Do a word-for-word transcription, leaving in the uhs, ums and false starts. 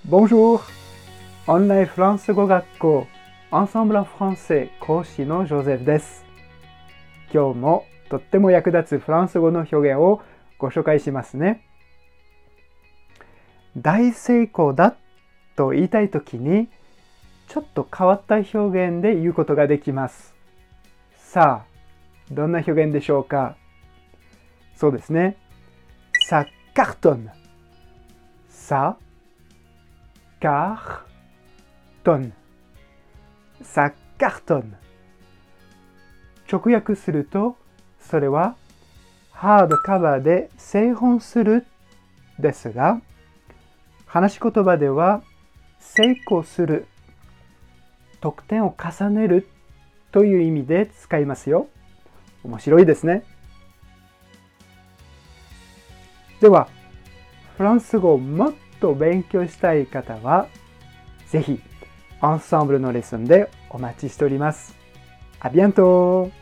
Bonjour! オンラインフランス語学校 Ensemble en français 講師のジョゼフです。今日もとっても役立つフランス語の表現をご紹介しますね。大成功だと言いたいときにちょっと変わった表現で言うことができます。さあ、どんな表現でしょうか？そうですね。Ça cartonne. Ça cartonne. Ça cartonne. 直訳すると、それはハードカバーで製本するですが、話し言葉では成功する、得点を重ねるという意味で使いますよ。面白いですね。では、フランス語をもっと勉強したい方は、ぜひ、アンサンブルのレッスンでお待ちしております。À bientôt!